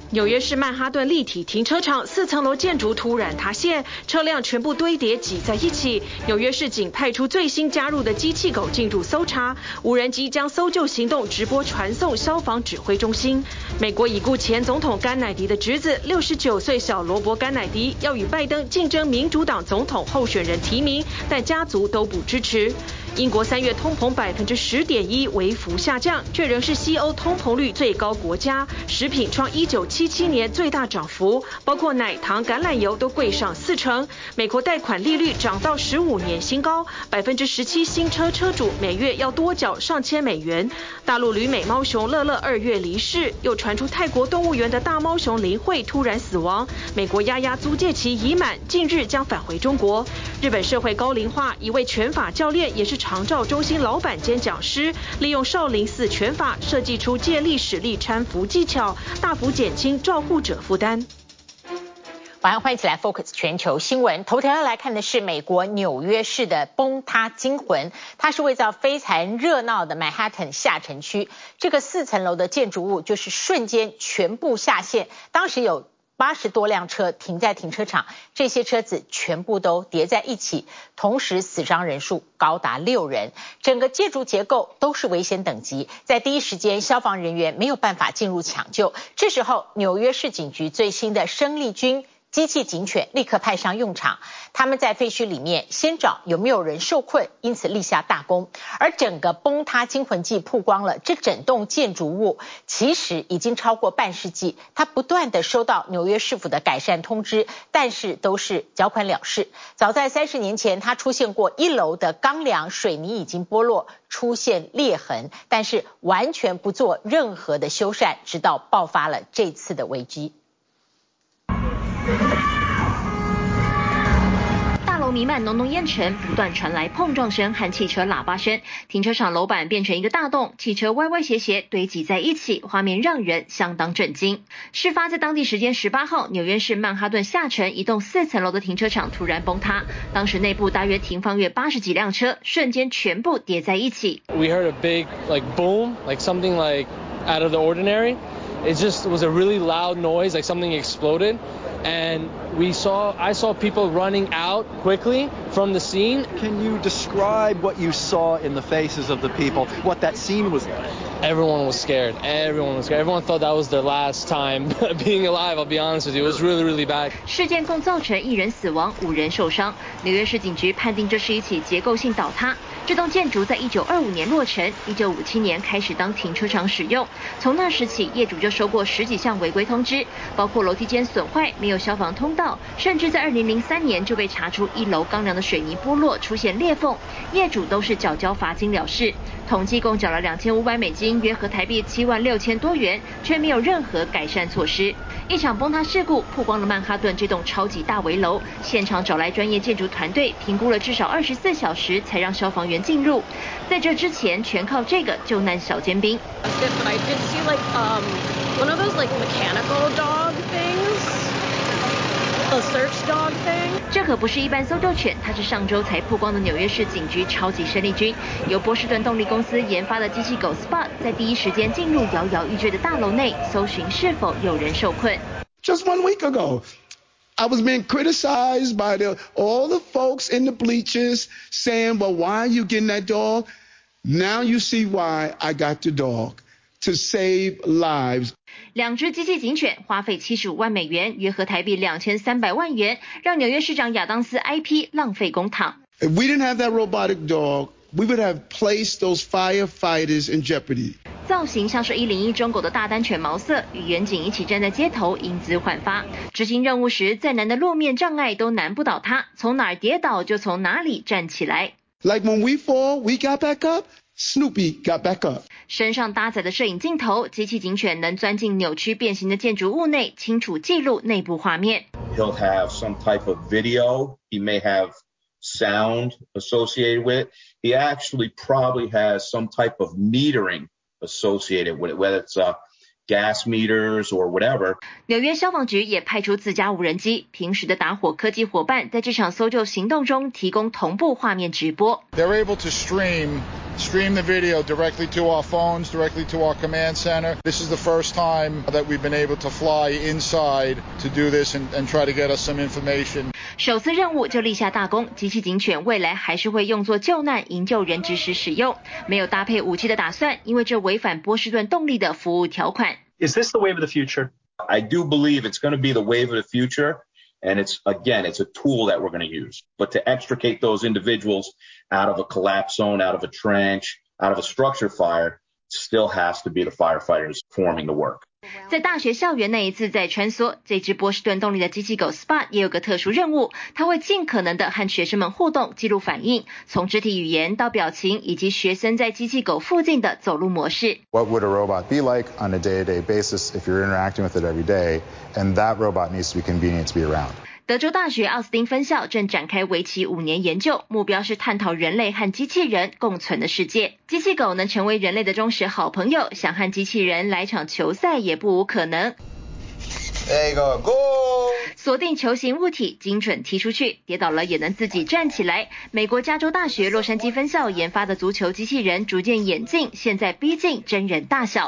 紐約市曼哈頓立體停車場4層樓建築突然塌陷，車輛全部堆疊擠在一起。紐約市警派出最新加入的機器狗進入搜查，無人機將搜救行動直播傳送消防指揮中心。美國已故前總統甘乃迪的侄子69歲小羅伯·甘乃迪要與拜登競爭民主黨總統候選人提名，但家族都不支持。英國3月通膨10.1%微幅下降，卻仍是西歐通膨率最高國家。食品創1977年最大漲幅，包括奶糖、橄欖油都貴上4成。美國貸款利率漲到15年新高，17%新車車主每月要多繳上千美元。大陸旅美貓熊樂樂2月離世，又傳出泰國動物園的大貓熊林慧突然死亡。美國丫丫租借期已滿，近日將返回中國。日本社會高齡化，一位拳法教練也是長照中心老闆兼講師，利用少林寺拳法設計出借力使力攙扶技巧，大幅減輕照護者負擔。 晚上歡迎一起來 Focus 全球新聞。頭條要來看的是美國紐約市的崩塌驚魂，它是位在非常熱鬧的曼哈頓下城區，這個4層樓的建築物就是瞬間全部下陷，當時有80多輛車停在停車場，這些車子全部都疊在一起，同時死傷人數高達6人，整個建築結構都是危險等級，在第一時間消防人員沒有辦法進入搶救。這時候紐約市警局最新的生力軍機器警犬立刻派上用場，他們在廢墟裡面先找有沒有人受困，因此立下大功。而整個崩塌驚魂記曝光了，這整棟建築物其實已經超過半世紀，它不斷的收到紐約市府的改善通知，但是都是繳款了事。早在30年前，它出現過1樓的鋼梁水泥已經剝落，出現裂痕，但是完全不做任何的修繕，直到爆發了這次的危機。 大樓彌漫濃濃煙塵，不斷傳來碰撞聲和汽車喇叭聲。停車場樓板變成一個大洞，汽車歪歪斜斜堆積在一起，畫面讓人相當震驚。事發在當地時間18號，紐約市曼哈頓下城一棟4層樓的停車場突然崩塌，當時內部大約停放約80幾輛車，瞬間全部疊在一起。 We heard a big boom, something out of the ordinary. It just was a really loud noise, like something exploded. And I saw people running out quickly from the scene. Can you describe what you saw in the faces of the people, what that scene was like? Everyone was scared. Everyone thought that was their last time being alive, I'll be honest with you. It was really, really bad. 事件共造成1人死亡，5人受傷。紐約市警局判定這是一起結構性倒塌。這棟建築在1925年落成，1957年開始當停車場使用。從那時起，業主就收過10幾項違規通知，包括樓梯間損壞、沒有消防通道，甚至在2003年就被查出1樓鋼梁的水泥剝落出現裂縫，業主都是繳交罰金了事。統計共繳了$2500，約合台幣76000多元，卻沒有任何改善措施。一場崩塌事故曝光了曼哈頓這棟超級大危樓，現場找來專業建築團隊評估了至少24小時才讓消防員進入。在這之前，全靠這個救難小尖兵。 But I did see one of those mechanical dog things.A search dog thing. 這可不是一般搜救犬，它是上周才曝光的紐約市警局超級生力軍，由波士頓動力公司研發的機器狗 Spot 在第一時間進入搖搖欲墜的大樓內，搜尋是否有人受困。 Just 1 week ago, I was being criticized by all the folks in the bleachers saying, well, why are you getting that dog? Now you see why I got the dog. To save lives. 2隻機器警犬花費75萬美元，約合台幣2300萬元，讓紐約市長亞當斯哀批浪費公帑。 If we didn't have that robotic dog, we would have placed those firefighters in jeopardy. 造型像是101中狗的大丹犬毛色，與遠景一起站在街頭，英姿煥發。執行任務時，再難的路面障礙都難不倒它，從哪兒跌倒就從哪裡站起來。 Like when we fall, we got back up.Snoopy got back up. 身上搭載的攝影鏡頭，機器警犬能鑽進扭曲變形的建築物內，清楚記錄內部畫面。 He'll have some type of video. He may have sound associated with it. He actually probably has some type of metering associated with it, whether it's gas meters or whatever. 紐約消防局也派出自家無人機，平時的打火科技夥伴在這場搜救行動中提供同步畫面直播。 They're able to stream stream the video directly to our phones, directly to our command center. This is the first time that we've been able to fly inside to do this and try to get us some information. 首次任務就立下大功，机器警犬未来還是會用作救難營救人質時使用，沒有搭配武器的打算，因為這違反波士頓動力的服務條款。 Is this the wave of the future? I do believe it's going to be the wave of the future. And it's a tool that we're going to use. But to extricate those individuals out of a collapse zone, out of a trench, out of a structure fire, still has to be the firefighters performing the work. 在大學校園那一次在穿梭，這隻波士頓動力的機器狗 Spot 也有個特殊任務，它會盡可能的和學生們互動，記錄反應，從肢體語言到表情，以及學生在機器狗附近的走路模式。 What would a robot be like on a day-to-day basis if you're interacting with it every day? And that robot needs to be convenient to be around. 德州大學奧斯汀分校正展開為期5年研究，目標是探討人類和機器人共存的世界。機器狗能成為人類的忠實好朋友，想和機器人來場球賽也不無可能。 There you go, go! 鎖定球形物體，精準踢出去，跌倒了也能自己站起來。美國加州大學洛杉磯分校研發的足球機器人逐漸演進，現在逼近真人大小。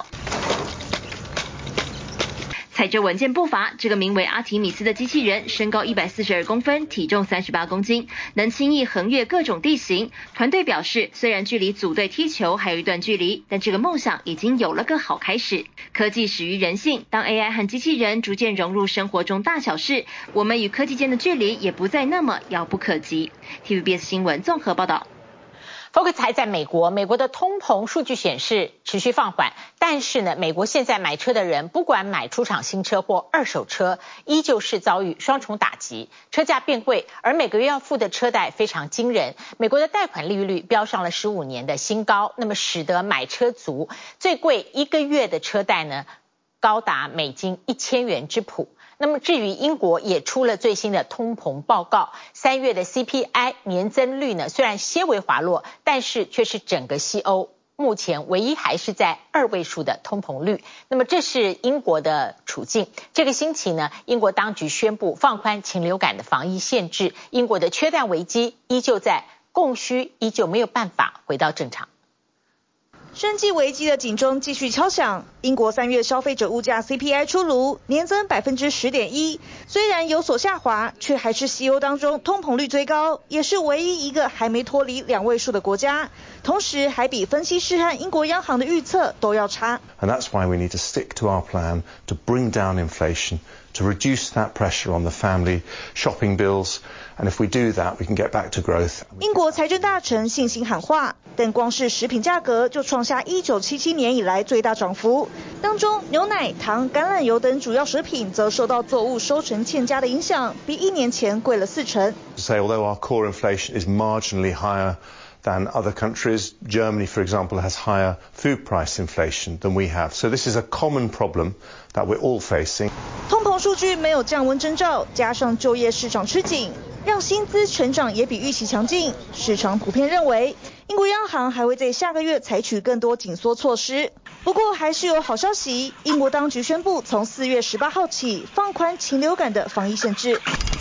踩着穩健步伐，這個名為阿提米斯的機器人身高142公分，體重38公斤，能輕易橫越各種地形。團隊表示，雖然距離組隊踢球還有一段距離，但這個夢想已經有了個好開始。科技始於人性，當 AI 和機器人逐漸融入生活中大小事，我們與科技間的距離也不再那麼遙不可及。TVBS 新聞綜合報道。 Focus 還在美國的通膨數據顯示持續放緩，但是呢，美國現在買車的人不管買出廠新車或二手車，依舊是遭遇雙重打擊，車價變貴，而每個月要付的車貸非常驚人。美國的貸款利率飆上了15年的新高，那麼使得買車族最貴一個月的車貸呢，高達美金1000元之譜。那麼至於英國也出了最新的通膨報告，3月的 CPI 年增率呢，雖然些微滑落，但是卻是整個西歐目前唯一還是在2位數的通膨率。那麼這是英國的處境。這個星期呢，英國當局宣布放寬禽流感的防疫限制，英國的缺蛋危機依舊在，供需依舊沒有辦法回到正常。 生技危機的警鐘繼續敲響。英國3月消費者物價 CPI 出爐，年增 10.1%， 雖然有所下滑，卻還是西歐當中通膨率最高，也是唯一一個還沒脫離2位數的國家。同時還比分析師和英國央行的預測都要差。 And that's why we need to stick to our plan to bring down inflation, to reduce that pressure on the family shopping bills. And if we do that, we can get back to growth. 英國財政大臣信心喊話，但光是食品價格就創下1977年以來最大漲幅。當中牛奶、糖、橄欖油等主要食品則受到作物收成欠佳的影響，比1年前貴了40%。 Say, although our core inflation is marginally higher than other countries, Germany, for example, has higher food price inflation than we have. So this is a common problem that we're all facing. 通膨數據沒有降溫徵兆，加上就業市場吃緊，讓薪資成長也比預期強勁。市場普遍認為，英國央行還會在下個月採取更多緊縮措施。不過還是有好消息，英國當局宣布從4月18號起放寬禽流感的防疫限制。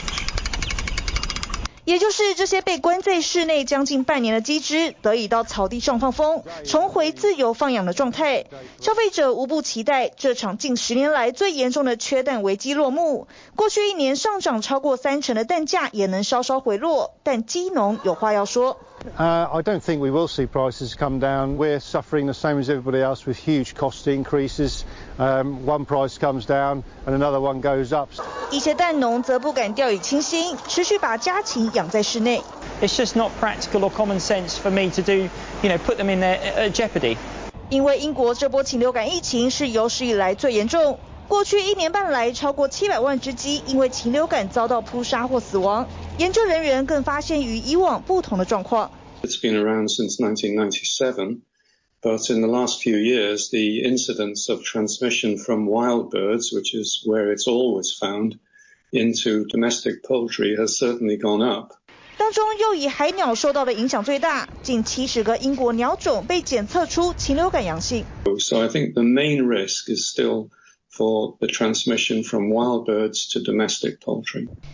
也就是這些被關在室內將近半年的雞隻得以到草地上放風，重回自由放養的狀態。消費者無不期待這場近10年來最嚴重的缺蛋危機落幕。過去1年上漲超過30%的蛋價也能稍稍回落，但雞農有話要說。 I don't think we will see prices come down. We're suffering the same as everybody else with huge cost increases. One price comes down and another one goes up. 一些蛋農則不敢掉以輕心，持續把家禽養在室內。 It's just not practical or common sense for me to do, put them in jeopardy. 因為英國這波禽流感疫情是有史以來最嚴重。過去1年半來，超過700萬隻雞因為禽流感遭到撲殺或死亡。研究人員更發現與以往不同的狀況。 It's been around since 1997, but in the last few years, the incidence of transmission from wild birds, which is where it's always found, into domestic poultry has certainly gone up. 當中又以海鳥受到的影響最大，近70個英國鳥種被檢測出禽流感陽性。 So I think the main risk is still for the transmission from wild birds to domestic poultry.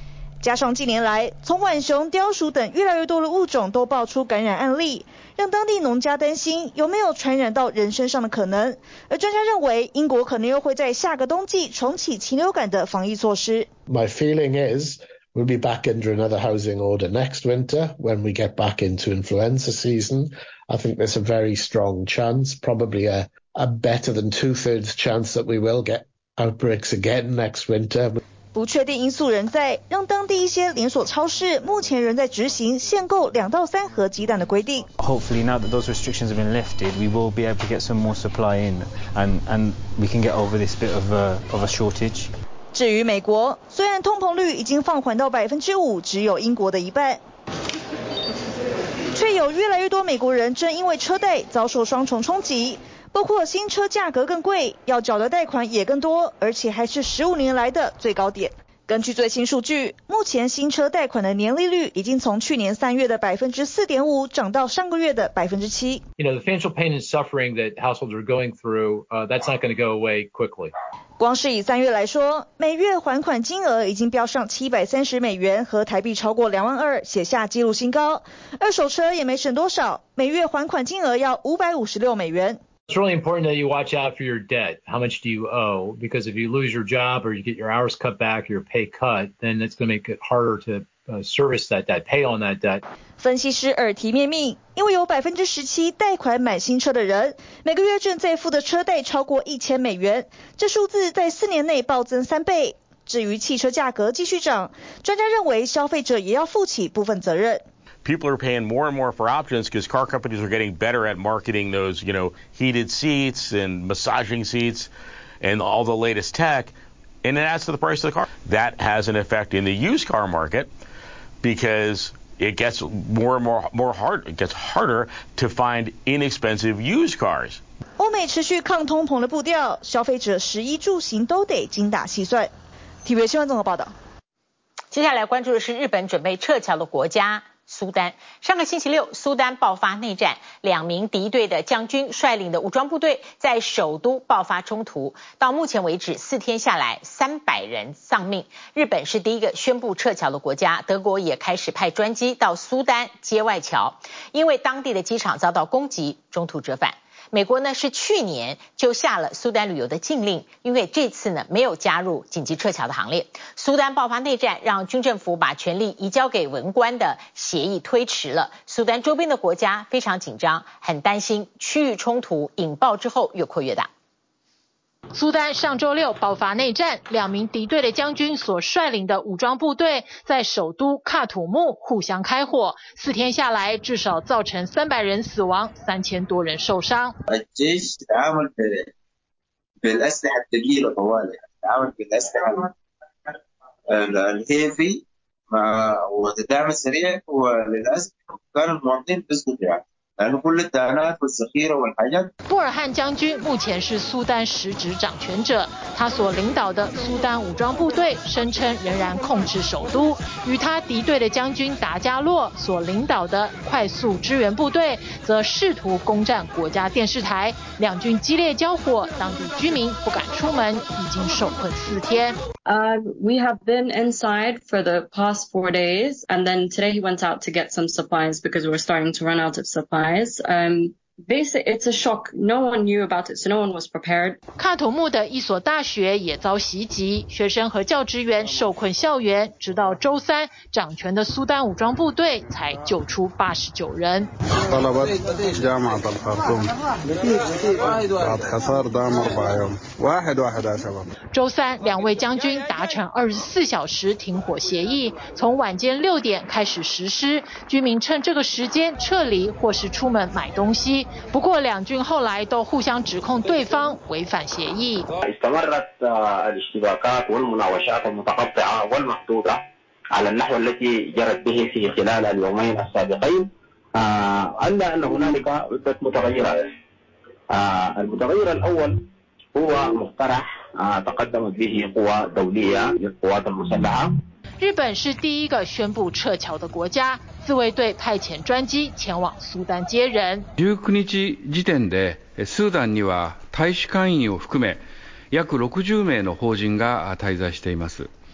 加上近年來從浣熊、貂鼠等越來越多的物種都爆出感染案例，讓當地農家擔心有沒有傳染到人身上的可能。而專家認為，英國可能又會在下個冬季重啟禽流感的防疫措施。 My feeling is we'll be back under another housing order next winter when we get back into influenza season. I think there's a very strong chance, probably a better than 2/3 chance that we will get outbreaks again next winter. 不確定因素仍在，讓當地一些連鎖超市目前仍在執行限購2到3盒雞蛋的規定。 Hopefully now that those restrictions have been lifted, we will be able to get some more supply in, and we can get over this bit of a shortage. 至於美國，雖然通膨率已經放緩到5%，只有英國的一半，卻有越來越多美國人正因為車貸遭受雙重衝擊。包括新車價格更貴，要繳的貸款也更多，而且還是15年來的最高點。根據最新數據，目前新車貸款的年利率已經從去年3月的 4.5% 漲到上個月的 7%。 The financial pain and suffering that households are going through, that's not going to go away quickly. 光是以3月來說，每月還款金額已經飆上$730和台幣超過22000，寫下紀錄新高。二手車也沒省多少，每月還款金額要$556。 It's really important that you watch out for your debt. How much do you owe? Because if you lose your job or you get your hours cut back, your pay cut, then it's going to make it harder to service that debt, pay on that debt. 分析師耳提面命，因為有17%貸款買新車的人，每個月正在付的車貸超過$1000，這數字在4年內暴增3倍。至於汽車價格繼續漲，專家認為消費者也要負起部分責任。 People are paying more and more for options because car companies are getting better at marketing those, heated seats and massaging seats and all the latest tech, and it adds to the price of the car. That has an effect in the used car market because it gets it gets harder to find inexpensive used cars. 歐美持續抗通膨的步調，消費者食衣住行都得精打細算。TVB 新聞綜合報道。 接下來關注的是日本準備撤僑的國家。蘇丹上個星期六，蘇丹爆發內戰，2名敵對的將軍率領的武裝部隊在首都爆發衝突。到目前為止，4天下來300人喪命。日本是第一個宣布撤僑的國家，德國也開始派專機到蘇丹接外僑，因為當地的機場遭到攻擊，中途折返。美國呢是去年就下了蘇丹旅遊的禁令，因為這次呢沒有加入緊急撤僑的行列。蘇丹爆發內戰，讓軍政府把權力移交給文官的協議推遲了。蘇丹周邊的國家非常緊張，很擔心區域衝突引爆之後越擴越大。 蘇丹上週六爆發內戰，2名敵對的將軍所率領的武裝部隊在首都喀土穆互相開火，4天下來至少造成300人死亡，3000多人受傷。 الجيش تعامل بالأسلحة الثقيلة طوالي، تعامل بالأسلحة الهيفي والتدعيم السريع، وللأسف كان المواطنين بيسقطوا يعني. 布爾漢將軍目前是蘇丹實質掌權者，他所領導的蘇丹武裝部隊聲稱仍然控制首都，與他敵對的將軍達加洛所領導的快速支援部隊則試圖攻佔國家電視台，兩軍激烈交火，當地居民不敢出門，已經受困4天。 We have been inside for the past 4 days, and then today he went out to get some supplies because we were starting to run out of supplies. Basically, it's a shock. No one knew about it, so no one was prepared. 喀土穆的一所大學也遭襲擊，學生和教職員受困校園，直到週3，掌權的蘇丹武裝部隊才救出89人。週3，2位將軍達成24小時停火協議，從晚間6點開始實施，居民趁這個時間撤離或是出門買東西。不過兩軍後來都互相指控對方違反協議。 استمرت الاشتباكات والمناوشات المتقطعة والمحدودة على النحو التي جرت به في خلال اليومين السابقين، إلا أن هنالك عدة متغيرات. المتغير الأول هو مقترح تقدمت به قوى دولية للقوات المسلحة。 日本是第一個宣布撤僑的國家，自衛隊派遣專機前往蘇丹接人。 19日時點でスーダンには大使館員を含め約60名の邦人が滞在しています。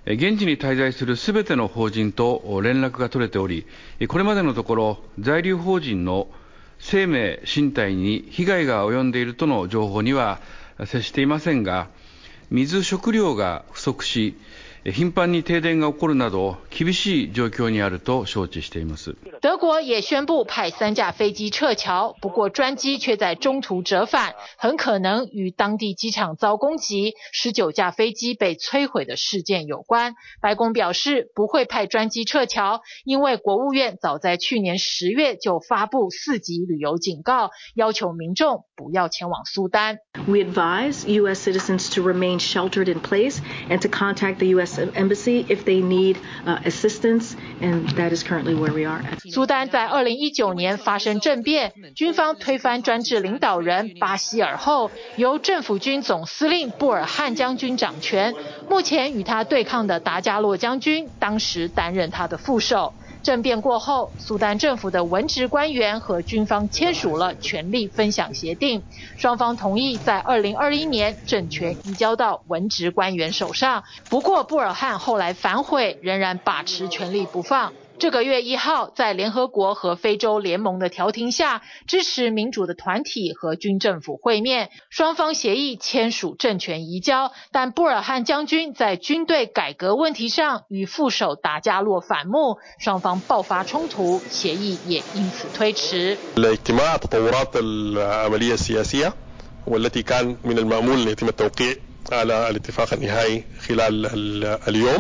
現地に滞在するすべての邦人と連絡が取れており、これまでのところ在留邦人の生命身体に被害が及んでいるとの情報には接していませんが、水食料が不足し、頻繁に停電が起こるなど厳しい状況にあると承知しています。 德國也宣布派3架飛機撤僑，不過專機卻在中途折返，很可能與當地機場遭攻擊，19架飛機被摧毀的事件有關。白宮表示不會派專機撤僑，因為國務院早在去年10月就發布4級旅遊警告，要求民眾不要前往蘇丹。 We advise U.S. citizens to remain sheltered in place and to contact the U.S. Embassy if they need assistance, and that is currently where we are. 蘇丹在2019年發生政變，軍方推翻專制領導人巴希爾後，由政府軍總司令布爾漢將軍掌權。目前與他對抗的達加洛將軍，當時擔任他的副手。政變過後，蘇丹政府的文職官員和軍方簽署了權力分享協定，雙方同意在2021年政權移交到文職官員手上。不過布爾漢後來反悔，仍然把持權力不放。這個月1號，在聯合國和非洲聯盟的調停下，支持民主的團體和軍政府會面，雙方協議簽署政權移交，但布爾漢將軍在軍隊改革問題上與副手達加洛反目，雙方爆發衝突，協議也因此推遲。 الاجتماع تطورات العملية السياسية والتي كان من المأمول أن يتم التوقيع على الاتفاق النهائي خلال اليوم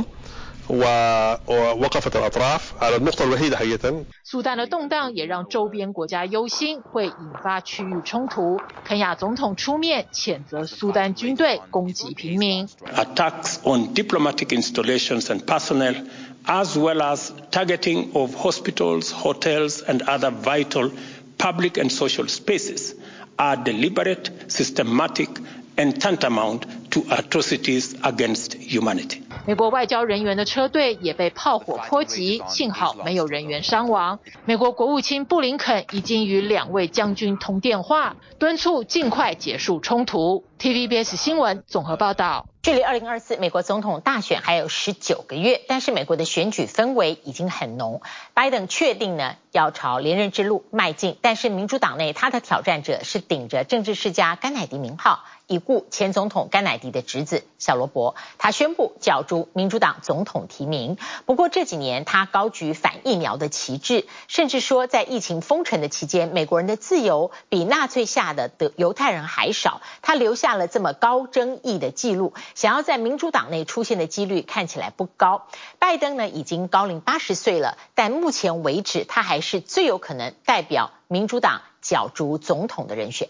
ووقفت الأطراف على النقطة الوحيدة حقيقة。 蘇丹的動盪也讓周邊國家憂心會引發區域衝突。肯亞總統出面譴責蘇丹軍隊攻擊平民。 Attacks on diplomatic installations and personnel, as well as targeting of hospitals, hotels, and other vital public and social spaces, are deliberate, systematic, and tantamount to atrocities against humanity。 美國外交人員的車隊也被炮火波及，幸好沒有人員傷亡。美國國務卿布林肯已經與兩位將軍通電話，敦促盡快結束衝突。TVBS 新聞綜合報道。 距離2024美國總統大選還有19個月，但是美國的選舉氛圍已經很濃。拜登確定呢要朝連任之路邁進，但是民主黨內他的挑戰者是頂着政治世家甘乃迪名號，已故前總統甘乃迪的侄子小羅伯，他宣布角逐民主黨總統提名。不過這幾年他高舉反疫苗的旗幟，甚至說在疫情封城的期間，美國人的自由比納粹下的猶太人還少，他留下了這麼高爭議的記錄，想要在民主黨內出現的幾率看起來不高。拜登呢已經高齡80歲了，但目前為止他還是最有可能代表民主黨角逐總統的人選。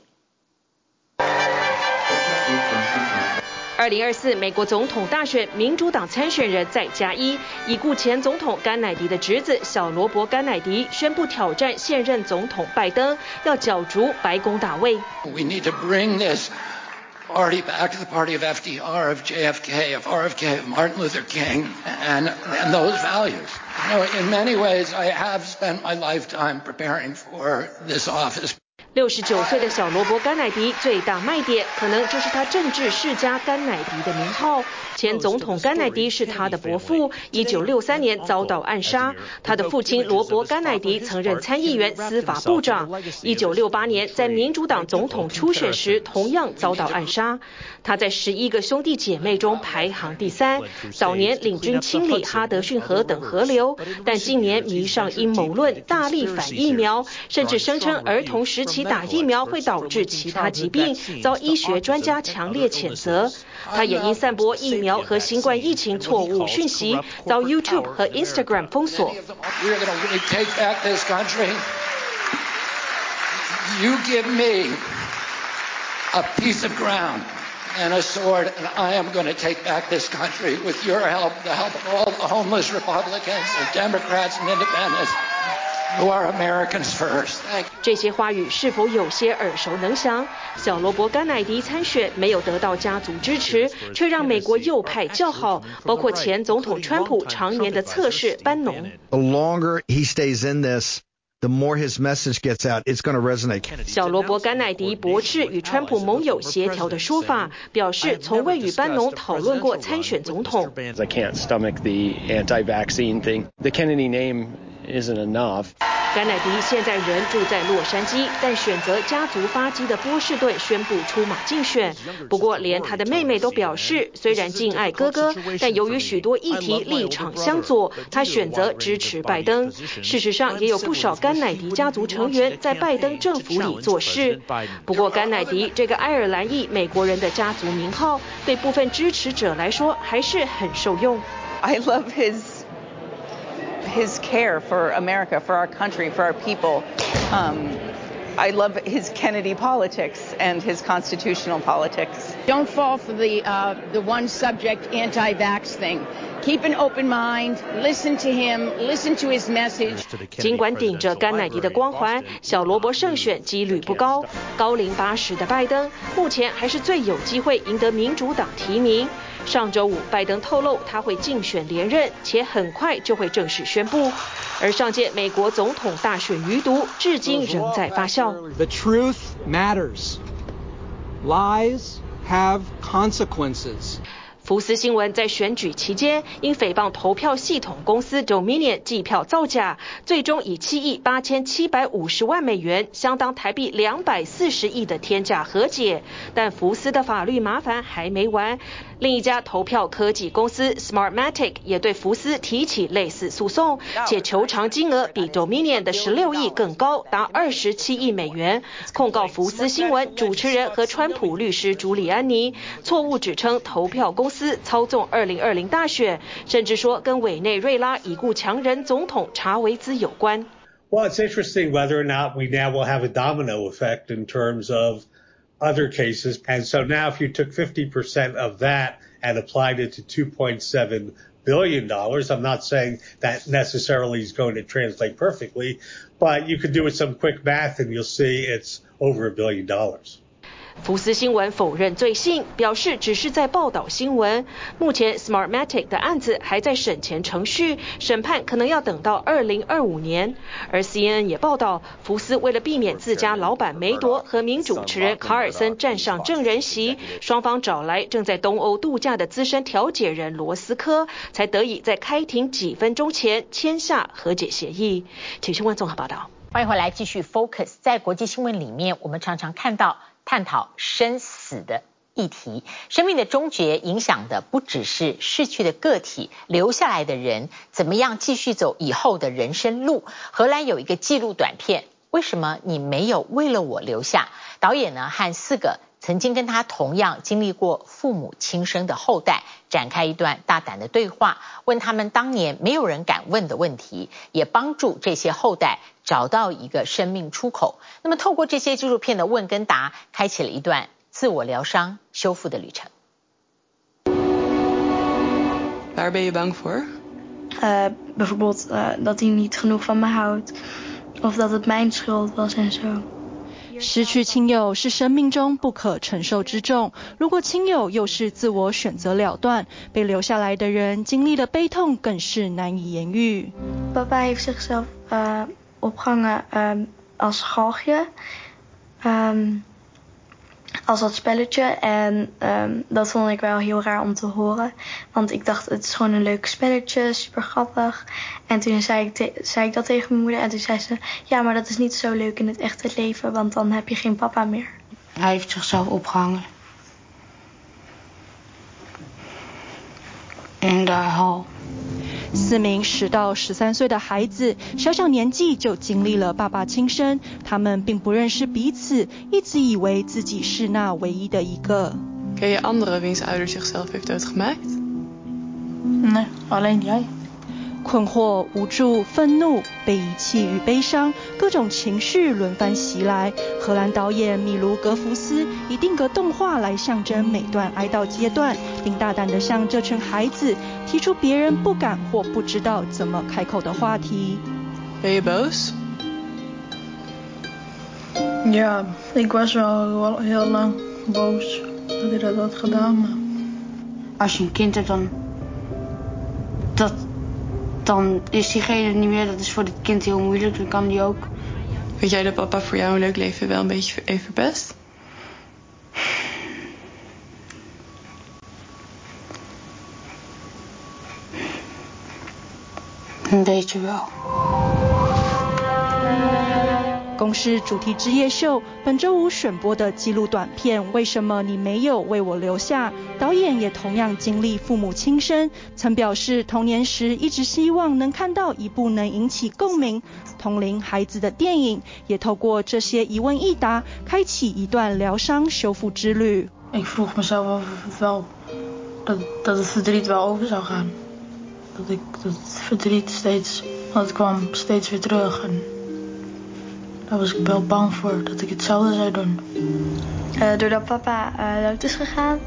2024美國總統大選，民主黨參選人再加一，已故前總統甘乃迪的侄子小羅伯甘乃迪宣布挑戰現任總統拜登，要角逐白宮大位。 We need to bring this party back to the party of FDR, of JFK, of RFK, of Martin Luther King, and those values. You know, in many ways, I have spent my lifetime preparing for this office. 69歲的小羅伯甘乃迪最大賣點，可能就是他政治世家甘乃迪的名號。前總統甘乃迪是他的伯父，1963年遭到暗殺。他的父親羅伯甘乃迪曾任參議員、司法部長，1968年在民主黨總統初選時同樣遭到暗殺。他在11個兄弟姐妹中排行第3，早年領軍清理哈德遜河等河流，但近年迷上陰謀論，大力反疫苗，甚至聲稱兒童時期打疫苗會導致其他疾病，遭醫學專家強烈譴責。他也因散播疫苗和新冠疫情錯誤訊息，遭 YouTube 和 Instagram 封鎖。 You give me a piece of ground and a sword, and I am going to take back this country with your help, the help of all the homeless Republicans and Democrats and Independents who are Americans first. 這些話語是否有些耳熟能詳？小羅伯甘乃迪參選沒有得到家族支持，卻讓美國右派叫好，包括前總統川普常年的側室班農。 The longer he stays in this, the more his message gets out, it's going to resonate. 小罗伯·甘乃迪驳斥与川普盟友協調的說法，表示從未與班農討論過參選總統。 I can't stomach the anti-vaccine thing. The Kennedy name isn't enough. 甘乃迪現在人住在洛杉磯，但選擇家族發跡的波士頓宣布出馬競選。不過，連他的妹妹都表示，雖然敬愛哥哥，但由於許多議題立場相左，他選擇支持拜登。事實上，也有不少甘乃迪家族成員在拜登政府裡做事。不過，甘乃迪這個愛爾蘭裔美國人的家族名號，對部分支持者來說還是很受用。 I love his care for America, for our country, for our people. I love his Kennedy politics and his constitutional politics. Don't fall for the one subject anti-vax thing. Keep an open mind, listen to him, listen to his message. 儘管頂着甘乃迪的光環，小羅伯勝選幾率不高。高齡80的拜登，目前還是最有機會贏得民主黨提名。上週五，拜登透露他會競選連任，且很快就會正式宣布。而上屆美國總統大選餘毒，至今仍在發酵。 The truth matters. Lies have consequences. 福斯新聞在選舉期間，因誹謗投票系統公司 Dominion 計票造假，最終以7億8750萬美元，相當台幣240億的天價和解。但福斯的法律麻煩還沒完，另一家投票科技公司 Smartmatic 也對福斯提起類似訴訟，且求償金額比 Dominion 的16億更高，達27億美元，控告福斯新聞主持人和川普律師朱利安尼錯誤指稱投票公司操縱2020大選，甚至說跟委內瑞拉已故強人總統查維茲有關。 Well, it's interesting whether or not we now will have a domino effect in terms of other cases. And so now if you took 50% of that and applied it to $2.7 billion, I'm not saying that necessarily is going to translate perfectly, but you could do some quick math and you'll see it's over $1 billion. 福斯新聞否認罪行，表示只是在報道新聞。目前 Smartmatic 的案子還在審前程序，審判可能要等到2025年。而 CNN 也報道，福斯為了避免自家老闆梅朵和名主持人卡爾森站上證人席，雙方找來正在東歐度假的資深調解人羅斯科，才得以在開庭幾分鐘前簽下和解協議。請新聞綜合報道。 歡迎回來繼續 Focus。在國際新聞裡面，我們常常看到探討生死的議題，生命的終結影響的不只是逝去的個體，留下來的人怎麼樣繼續走以後的人生路。荷蘭有一個紀錄短片，為什麼你沒有為了我留下？導演呢和4個曾經跟他同樣經歷過父母輕生的後代展開一段大膽的對話，問他們當年沒有人敢問的問題，也幫助這些後代找到一個生命出口。那麼透過這些紀錄片的問跟答，開啟了一段自我療傷修復的旅程。 Waar ben je bang voor? Bijvoorbeeld dat hij niet genoeg van me houdt, of dat het mijn schuld was en zo. 失去親友是生命中不可承受之重，如果親友又是自我選擇了斷，被留下來的人經歷的悲痛更是難以言喻。 Papa heeft zichzelf opgehangen als galgje, als dat spelletje. En dat vond ik wel heel raar om te horen. Want ik dacht, het is gewoon een leuk spelletje, super grappig. En toen zei ik dat tegen mijn moeder. En toen zei ze, ja, maar dat is niet zo leuk in het echte leven. Want dan heb je geen papa meer. Hij heeft zichzelf opgehangen. In de hal. 4名10到13歲的孩子，小小年紀就經歷了爸爸輕生，他們並不認識彼此，一直以為自己是那唯一的一個。 Ken je anderen wiens ouder zichzelf heeft doodgemaakt? Nee, alleen jij. 困惑、無助、憤怒、被遺棄與悲傷，各種情緒輪番襲來。荷蘭導演米盧格福斯以定格動畫來象徵每段哀悼階段，並大膽地向這群孩子提出別人不敢或不知道怎麼開口的話題。 Ben je boos? Ja, ik was wel heel lang boos dat hij dat had gedaan. Maar als je een kind hebt, dan dan is diegene niet meer. Dat is voor het kind heel moeilijk. Dan kan die ook. Weet jij dat papa voor jou een leuk leven wel een beetje heeft verpest? Een beetje wel。 公視主題之夜秀本周五選播的紀錄短片《為什麼你沒有為我留下》，導演也同樣經歷父母輕生，曾表示童年時一直希望能看到一部能引起共鳴、同齡孩子的電影，也透過這些疑問一答，開啟一段療傷修復之旅。 Ik vroeg mezelf af of het wel dat het verdriet wel over zou gaan. Dat het verdriet steeds, want het kwam steeds weer terug en daar was ik wel bang voor dat ik hetzelfde zou doen. Doordat papa dood is gegaan,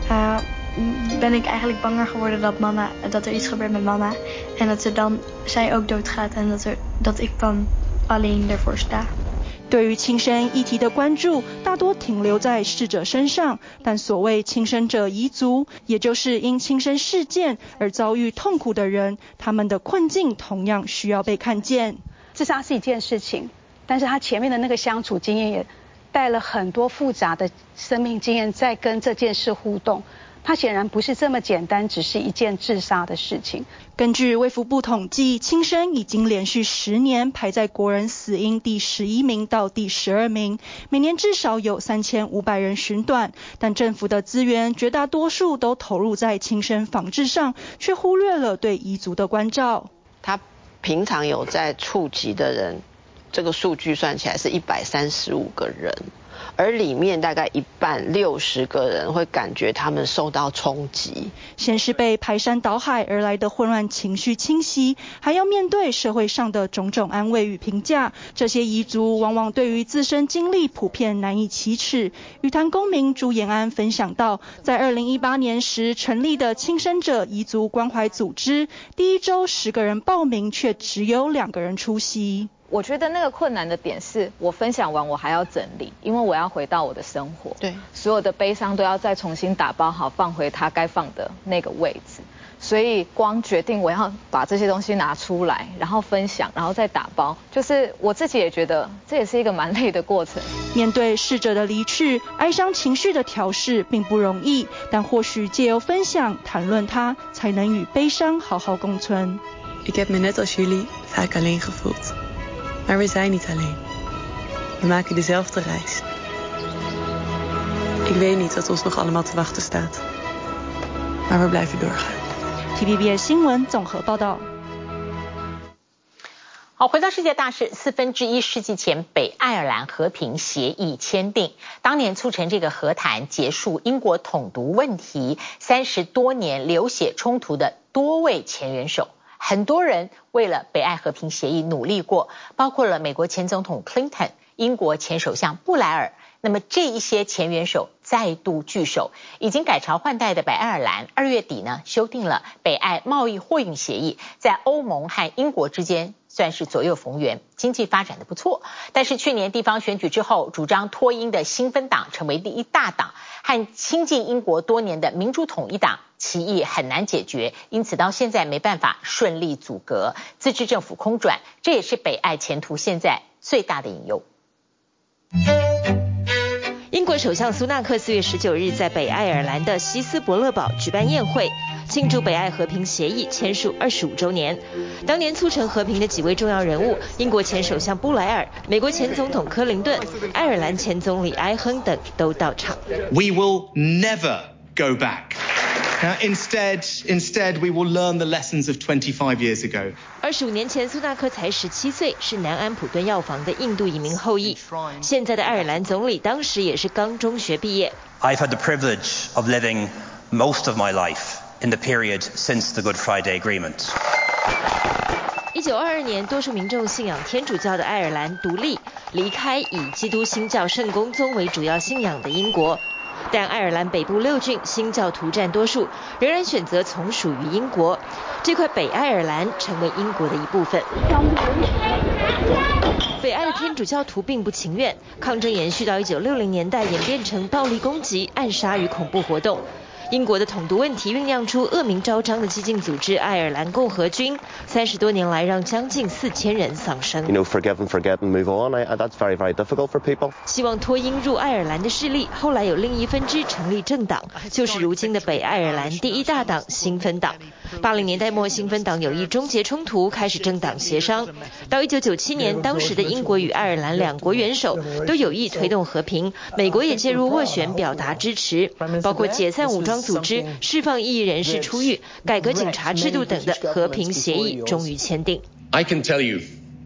ben ik eigenlijk banger geworden dat er iets gebeurt met mama en dat zij ook doodgaat en dat ik dan alleen ervoor sta. 對於輕生議題的關注大多停留在逝者身上，但所謂輕生者遺族，也就是因輕生事件而遭遇痛苦的人，他們的困境同樣需要被看見。 自殺是一件事情，但是他前面的那個相處經驗也帶了很多複雜的生命經驗在跟這件事互動，它顯然不是這麼簡單，只是一件自殺的事情。 根據衛福部統計，輕生已經連續10年排在國人死因第11名到第12名，每年至少有3500人尋短，但政府的資源絕大多數都投入在輕生防治上，卻忽略了對遺族的關照。 他平常有在觸及的人，這個數據算起來是135個人。而裡面大概一半60個人會感覺他們受到衝擊， 先是被排山倒海而來的混亂情緒侵襲，還要面對社會上的種種安慰與評價。這些遺族往往對於自身經歷普遍難以啟齒。羽壇公民朱延安分享到，在2018年時成立的輕生者遺族關懷組織，第一周10個人報名，卻只有2個人出席。 我覺得那個困難的點是我分享完我還要整理，因為我要回到我的生活，對，所有的悲傷都要再重新打包好，放回它該放的那個位置。所以光決定我要把這些東西拿出來，然後分享，然後再打包，就是我自己也覺得這也是一個蠻累的過程。 面對逝者的離去，哀傷情緒的調適並不容易，但或許借由分享談論它，才能與悲傷好好共存。 Ik heb me net als jullie vaak alleen gevoeld. Maar we zijn niet alleen. We maken dezelfde reis. Ik weet niet wat ons nog allemaal te wachten staat. Maar we blijven doorgaan. TVBS 新聞綜合報道。 好，回到世界大事，1/4世紀前北愛爾蘭和平協議簽訂，當年促成這個和談結束英國統獨問題30多年流血衝突的多位前元首。很多人為了北愛和平協議努力過，包括了美國前總統 Clinton、英國前首相布萊爾。那麼這一些前元首再度聚首，已經改朝換代的北愛爾蘭2月底呢修訂了北愛貿易貨運協議，在歐盟和英國之間算是左右逢源，經濟發展得不錯。但是去年地方選舉之後，主張脫英的新芬黨成為第一大黨，和親近英國多年的民主統一黨歧義很難解決，因此到現在沒辦法順利組閣，自治政府空轉，這也是北愛前途現在最大的隱憂。 英國首相蘇納克4月19日在北愛爾蘭的希斯伯勒堡舉辦宴會，慶祝北愛和平協議簽署25週年。當年促成和平的幾位重要人物，英國前首相布萊爾、美國前總統克林頓、愛爾蘭前總理埃亨等都到場。 We will never go back. Instead, we will learn the lessons of 25 years ago. 25年前，蘇納克才17歲，是南安普敦藥房的印度移民後裔。現在的愛爾蘭總理當時也是剛中學畢業。 I've had the privilege of living most of my life in the period since the Good Friday Agreement. 1922年，多數民眾信仰天主教的愛爾蘭獨立，離開以基督新教聖公宗為主要信仰的英國。但愛爾蘭北部6郡新教徒佔多數，仍然選擇從屬於英國。這塊北愛爾蘭成為英國的一部分。北愛的天主教徒並不情願，抗爭延續到1960年代，演變成暴力攻擊、暗殺與恐怖活動。 英國的統獨問題醞釀出惡名昭彰的激進組織愛爾蘭共和軍，30多年來讓將近4000人喪生。 Forgive and forget and move on. That's very, very difficult for people. 希望脫英入愛爾蘭的勢力，後來有另一分支成立政黨，就是如今的北愛爾蘭第一大黨新芬黨。80年代末，新芬黨有意終結衝突，開始政黨協商。到1997年，當時的英國與愛爾蘭兩國元首都有意推動和平，美國也介入斡旋，表達支持，包括解散武裝組織、釋放異議人士出獄、改革警察制度等的和平協議終於簽訂。 I can tell you,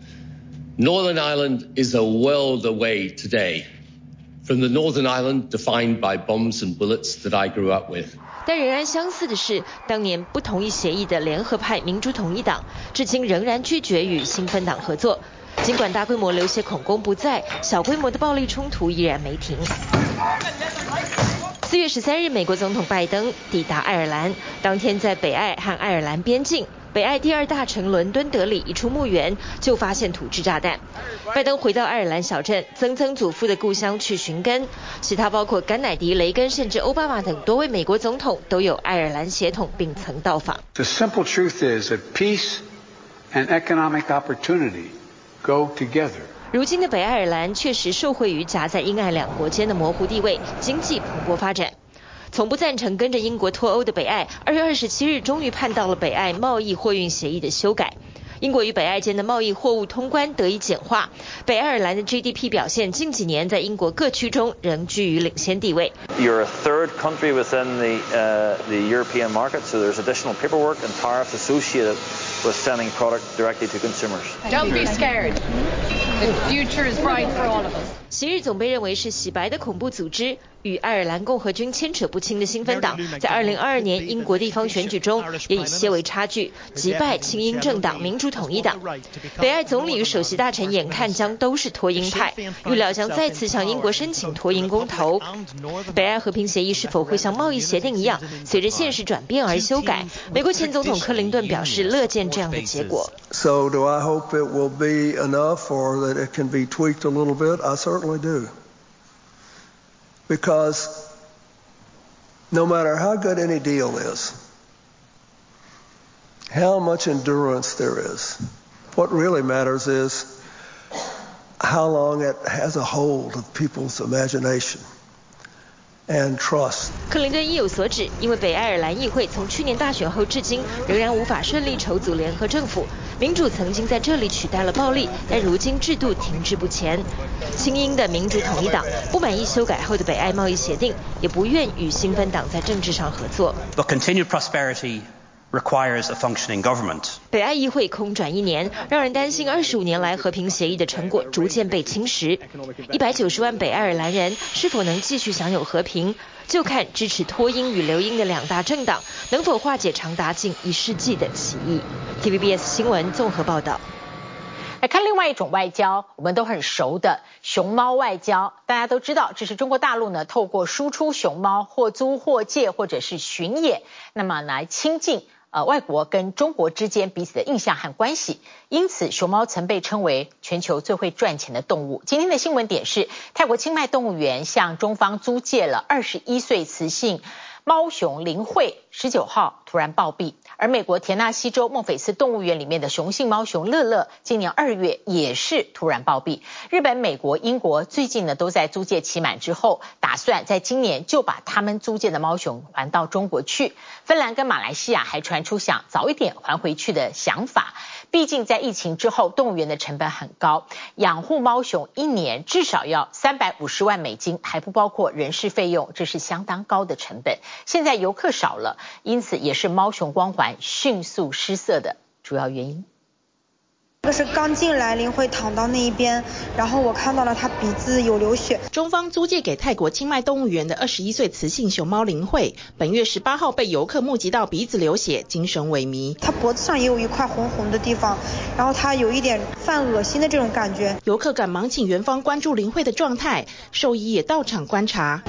Northern Ireland is a world away today from the Northern Ireland defined by bombs and bullets that I grew up with. 但仍然相似的是，当年不同意協議的聯合派民主統一黨，至今仍然拒絕與新芬黨合作。儘管大規模流血恐攻不在，小規模的暴力衝突依然沒停。4月13日，美國總統拜登抵達愛爾蘭，當天在北愛和愛爾蘭邊境。北愛第2大城倫敦德里一處墓園就發現土製炸彈。拜登回到愛爾蘭小鎮曾曾祖父的故鄉去尋根，其他包括甘乃迪、雷根甚至奧巴馬等多位美國總統都有愛爾蘭血統並曾到訪。 The simple truth is that peace and economic opportunity go together. 如今的北愛爾蘭確實受惠於夾在英愛兩國間的模糊地位，經濟蓬勃發展。從不贊成跟着英國脫歐的北愛，2月27日終於盼到了北愛貿易貨運協議的修改。英國與北愛間的貿易貨物通關得以簡化，北愛爾蘭的 GDP 表現近幾年在英國各區中仍居於領先地位。 You're a third country within the European market, so there's additional paperwork and tariffs associated with sending product directly to consumers. Don't be scared. The future is bright for all of us. 昔日總被認為是洗白的恐怖組織，與愛爾蘭共和軍牽扯不清的新芬黨，在2022年英國地方選舉中也以些微差距擊敗親英政黨民主統一黨。北愛總理與首席大臣眼看將都是脫英派，預料將再次向英國申請脫英公投。北愛和平協議是否會像貿易協定一樣，隨着現實轉變而修改？美國前總統克林頓表示樂見這樣的結果。 So do I hope it will be enough or that it can be tweaked a little bit? I certainly do. Because no matter how good any deal is, how much endurance there is, what really matters is how long it has a hold of people's imagination and trust. 克林頓意有所指，因為北愛爾蘭議會從去年大選後至今仍然無法順利籌組聯合政府，民主曾經在這裡取代了暴力，但如今制度停滯不前。親英的民主統一黨不滿意修改後的北愛貿易協定，也不願與新芬黨在政治上合作。 But continued prosperity requires a functioning government. 北愛議會空轉1年，讓人擔心25年來和平協議的成果逐漸被侵蝕。190萬北愛爾蘭人是否能繼續享有和平，就看支持脫英與留英的兩大政黨能否化解長達近1世紀的歧義。TVBS 新聞綜合報道。 來看另外一種外交，我們都很熟的熊貓外交。大家都知道，這是中國大陸呢透過輸出熊貓或租或借或者是巡演，那麼來親近外國跟中國之間彼此的印象和關係。因此，熊貓曾被稱為全球最會賺錢的動物。今天的新聞點是，泰國清邁動物園向中方租借了21歲雌性貓熊林慧，19號突然暴斃。而美國田納西州孟菲斯動物園裡面的雄性貓熊樂樂，今年2月也是突然暴斃。日本、美國、英國最近呢都在租借期滿之後，打算在今年就把他們租借的貓熊還到中國去。芬蘭跟馬來西亞還傳出想早一點還回去的想法。畢竟在疫情之後，動物園的成本很高，養護貓熊1年至少要350萬美金，還不包括人事費用，這是相當高的成本。現在遊客少了，因此也是貓熊光環迅速失色的主要原因。 這是剛進來林慧躺到那一邊，然後我看到了他鼻子有流血。 中方租借給泰國清邁動物園的21歲雌性熊貓林慧，本月18號被遊客目擊到鼻子流血，精神萎靡。 他脖子上也有一塊紅紅的地方，然後他有一點犯噁心的這種感覺。 遊客趕忙請園方關注林慧的狀態，獸醫也到場觀察。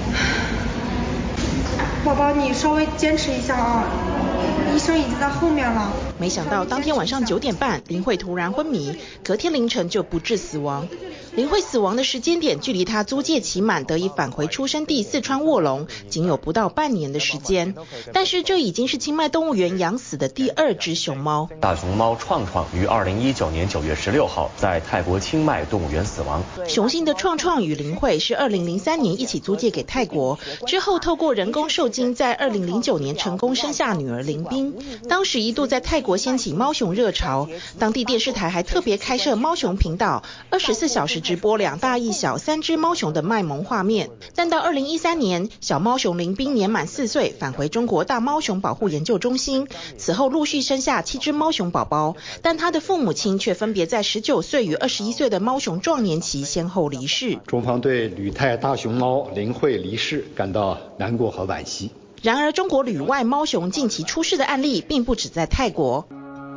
寶寶，你稍微堅持一下啊。醫生已經在後面了。 沒想到當天晚上9點半，林慧突然昏迷，隔天凌晨就不治死亡。 林慧死亡的時間點距離她租借期滿得以返回出生地四川臥龍僅有不到半年的時間，但是這已經是清邁動物園養死的第2隻熊貓。 大熊貓創創於2019年9月16號在泰國清邁動物園死亡。 雄性的創創與林慧是2003年一起租借給泰國，之後透過人工受精，在2009年成功生下女兒林冰。當時一度在泰國掀起貓熊熱潮，當地電視台還特別開設貓熊頻道，24小時直播2大一小3隻貓熊的賣萌畫面。但到2013年，小貓熊林冰年滿4歲，返回中國大貓熊保護研究中心，此後陸續生下7隻貓熊寶寶，但他的父母親卻分別在19歲與21歲的貓熊壯年期先後離世。 中方對旅泰大熊貓林慧離世感到難過和惋惜。 然而，中國旅外貓熊近期出事的案例並不止在泰國。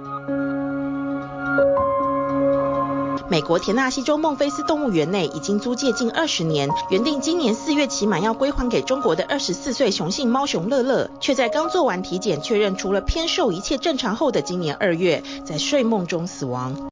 美國田納西州孟菲斯動物園內已經租借近20年，原定今年4月期滿要歸還給中國的24歲雄性貓熊樂樂，卻在剛做完體檢確認除了偏瘦一切正常後的今年2月，在睡夢中死亡。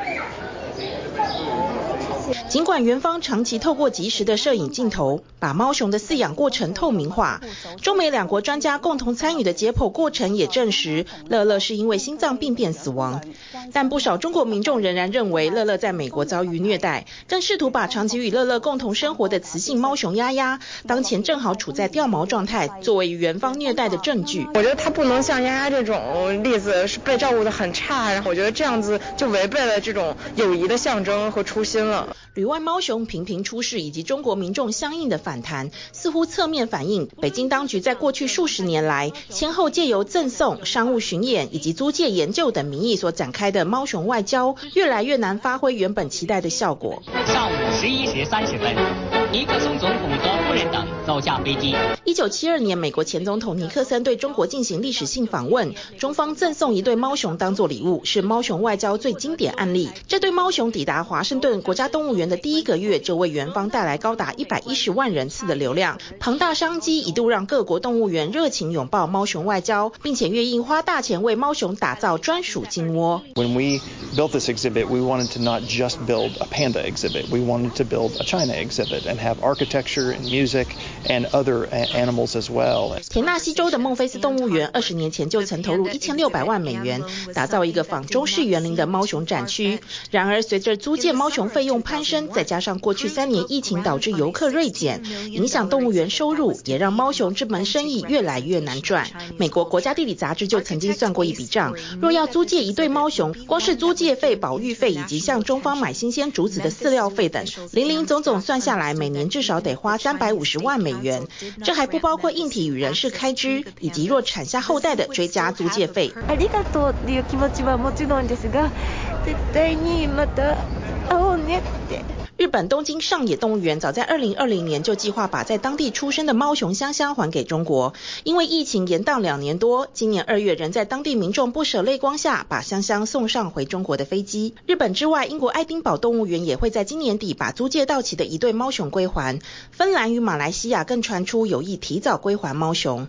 儘管園方長期透過即時的攝影鏡頭把貓熊的飼養過程透明化，中美兩國專家共同參與的解剖過程也證實樂樂是因為心臟病變死亡。但不少中國民眾仍然認為樂樂在美國遭遇虐待，更試圖把長期與樂樂共同生活的雌性貓熊丫丫當前正好處在掉毛狀態作為園方虐待的證據。 我覺得它不能像丫丫這種例子是被照顧得很差，然後我覺得這樣子就違背了這種友誼的象徵和初心了。 旅外貓熊頻頻出事以及中國民眾相應的反彈，似乎側面反映北京當局在過去數十年來先後借由贈送、商務巡演以及租借研究等名義所展開的貓熊外交，越來越難發揮原本期待的效果。 上午11時30分，尼克松總統和夫人等走下飛機。 1972年，美國前總統尼克森對中國進行歷史性訪問，中方贈送一對貓熊當作禮物，是貓熊外交最經典案例。這對貓熊抵達華盛頓國家動物園的第1個月，就為園方帶來高達110萬人次的流量，龐大商機一度讓各國動物園熱情擁抱貓熊外交，並且願意花大錢為貓熊打造專屬金窩。 When we built this exhibit, we wanted to not just build a panda exhibit. We wanted to build a China exhibit and have architecture and music and other animals as well. 田納西州的孟菲斯動物園20年前就曾投入1600萬美元，打造一個仿中式園林的貓熊展區。然而，隨着租借貓熊費用攀升，再加上過去3年疫情導致遊客銳減，影響動物園收入，也讓貓熊這門生意越來越難賺。美國國家地理雜誌就曾經算過一筆賬，若要租借一對貓熊，光是租借費、保育費以及向中方買新鮮竹子的飼料費等，零總算下來，每年至少得花350萬美元。這還不包括硬體與人事開支，以及若產下後代的追加租借費。 ありがとうっていう気持ちはもちろんですが、絶対にまた会おうねって。 日本東京上野動物園早在2020年就計劃把在當地出生的貓熊香香還給中國，因為疫情延宕2年多，今年2月仍在當地民眾不捨淚光下把香香送上回中國的飛機。日本之外，英國愛丁堡動物園也會在今年底把租借到期的一對貓熊歸還，芬蘭與馬來西亞更傳出有意提早歸還貓熊。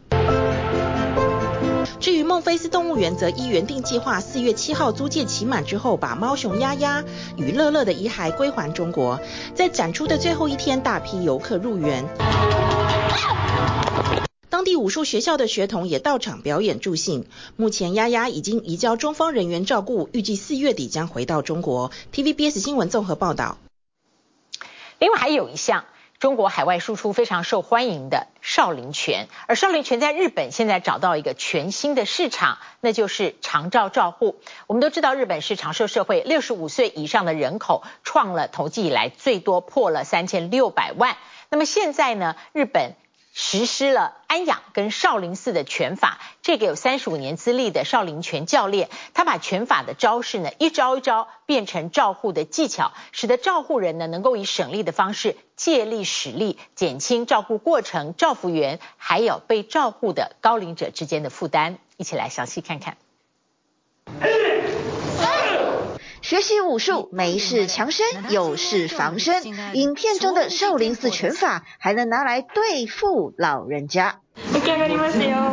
至於孟菲斯動物園則依原定計劃4月7號租借期滿之後，把貓熊丫丫與樂樂的遺骸歸還中國。在展出的最後一天，大批遊客入園，當地武術學校的學童也到場表演助興。目前丫丫已經移交中方人員照顧，預計4月底將回到中國。TVBS 新聞綜合報道。 另外還有一項中國海外輸出非常受歡迎的少林拳，而少林拳在日本現在找到一個全新的市場，那就是長照照護。我們都知道日本是長壽社會，65歲以上的人口創了統計以來最多，破了3600萬。那麼現在呢，日本實施了安養跟少林寺的拳法，這個有35年資歷的少林拳教練，他把拳法的招式呢一招一招變成照護的技巧，使得照護人呢能夠以省力的方式借力使力，減輕照護過程、照護員還有被照護的高齡者之間的負擔。一起來詳細看看。 學習武術，沒事強身，有事防身。影片中的少林寺拳法還能拿來對付老人家。 出來上がりますよ。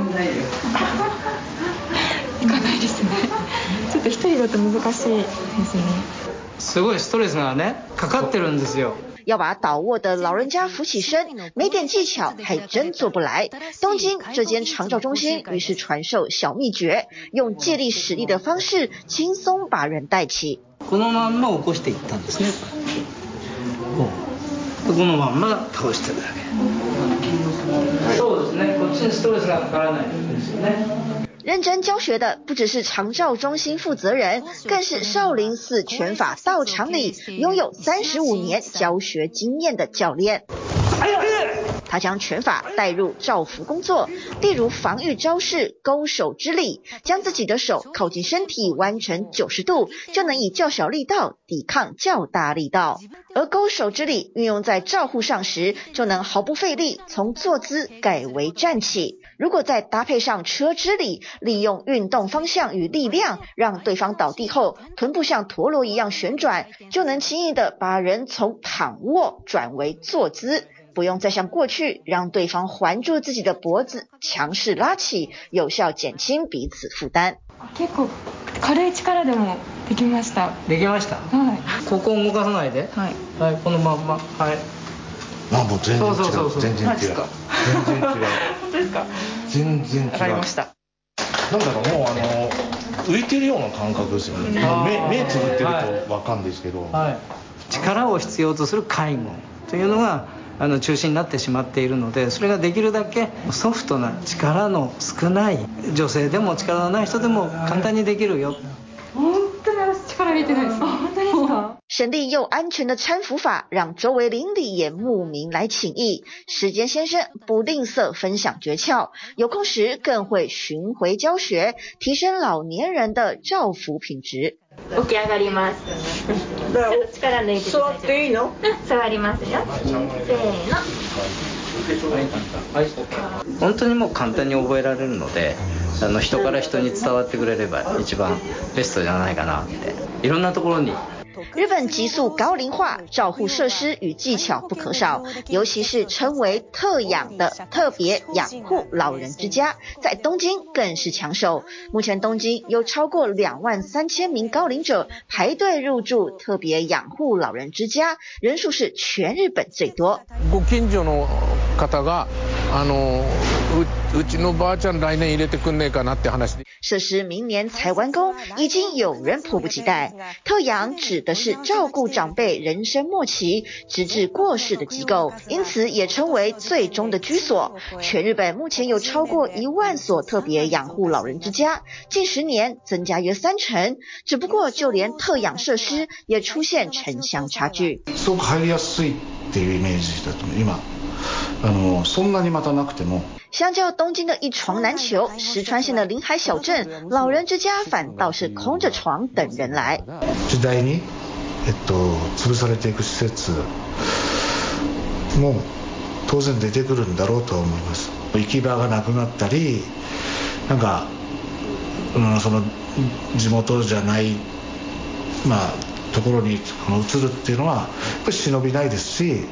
いかないですね。ちょっと一人だと難しいですね。 すごいストレスがねかかってるんですよ。 要把倒卧的老人家扶起身，没点技巧還真做不來。東京這間長照中心於是傳授小秘訣，用借力使力的方式，輕鬆把人帶起。 このまんま起こしていったんですね。このまんま倒してるだけ。そうですね。こっちにストレスがかからないですよね。 認真教學的不只是長照中心負責人，更是少林寺拳法道場裡擁有35年教學經驗的教練。他將拳法帶入照服工作，例如防禦招式勾手之力，將自己的手靠近身體彎成90度，就能以較小力道抵抗較大力道。而勾手之力運用在照護上時，就能毫不費力從坐姿改為站起。如果再搭配上車之力，利用運動方向與力量，讓對方倒地後臀部像陀螺一樣旋轉，就能輕易地把人從躺臥轉為坐姿。不用再像過去讓對方環住自己的脖子，強勢拉起，有效減輕彼此負擔。 結構軽い力でもできました。 できました。はい。ここ動かさないで。はい。はい。このまんま。はい。 もう全然違う。 そう全然違う。全然違う。 本当ですか。 全然違う。 わかりました。 なんだろう、もう浮いてるような感覚ですよね。目つぶってるとわかんないですけど。 はい。力を必要とする介護というのが中心になってしまっているので、それができるだけソフトな力の少ない女性でも力のない人でも簡単にできるよ。 本当に力入れてないです。本当ですか？ 省力又安全的攙扶法，讓周圍鄰里也慕名來請益。時間先生不吝嗇分享訣竅，有空時更會巡迴教學，提升老年人的照服品質。 起き上がります。力抜いて座っていいの？座りますよ。せーの。 本当にもう簡単に覚えられるので、人から人に伝わってくれれば一番ベストじゃないかなって。いろんなところに。 日本急速高齡化，照護設施與技巧不可少，尤其是稱為特養的特別養護老人之家，在東京更是搶手。目前東京有超過23000名高齡者排隊入住特別養護老人之家，人數是全日本最多。 ご近所の方がうちのばあちゃん來年入れてくんねえかなって話で。 設施明年才完工，已經有人迫不及待。特養指的是照顧長輩人生末期直至過世的機構，因此也稱為最終的居所。全日本目前有超過1萬所特別養護老人之家，近10年增加約30%。只不過就連特養設施也出現城鄉差距。 すごく入りやすいっていうイメージだと思う。今そんなにまたなくても。 相較東京的一床難求，石川縣的臨海小鎮老人之家反倒是空着床等人來。 時代に潰されていく施設も当然出てくるんだろうと思います。行き場がなくなったり、なんかその地元じゃないところに移るっていうのはやっぱり忍びないですし、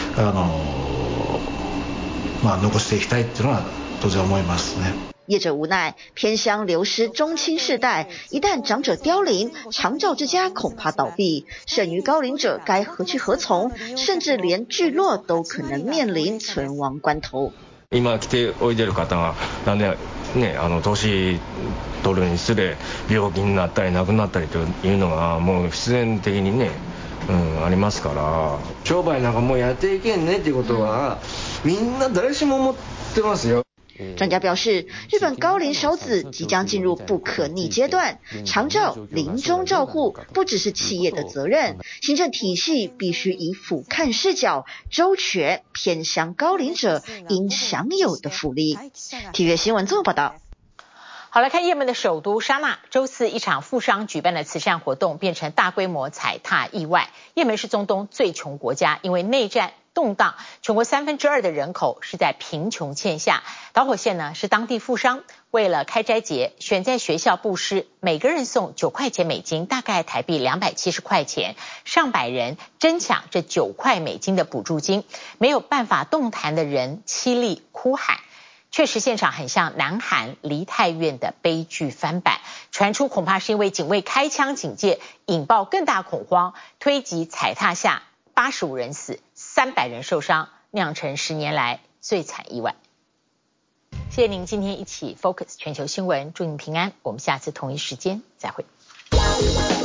残していきたいっていうのは当然思いますね。 業者無奈，偏鄉流失中青世代，一旦長者凋零，長照之家恐怕倒閉，剩餘高齡者該何去何從？甚至連聚落都可能面臨存亡關頭。 今来ておいでる方がなんでね、年取るにつれ病気になったり亡くなったりというのがもう必然的にね、ありますから、商売なんかもうやっていけんねっていうことはみんな誰しも思ってますよ。 專家表示，日本高齡少子即將進入不可逆階段，長照、臨終照護不只是企業的責任，行政體系必須以俯瞰視角，周全偏鄉高齡者應享有的福利。體育新聞綜合報道。 好，來看也門的首都沙那，週四一場富商舉辦的慈善活動變成大規模踩踏意外。也門是中東最窮國家，因為內戰動盪，全國2/3的人口是在貧窮線下。導火線呢是當地富商為了開齋節，選在學校布施，每個人送9塊錢美金，大概台幣270塊錢，上百人爭搶這9塊美金的補助金，沒有辦法動彈的人淒厲哭喊。 確實現場很像南韓梨泰院的悲劇翻版，傳出恐怕是因為警衛開槍警戒，引爆更大恐慌，推擠踩踏下85人死，300人受傷，釀成10年來最慘意外。謝謝您今天一起 Focus 全球新聞，祝您平安，我們下次同一時間再會。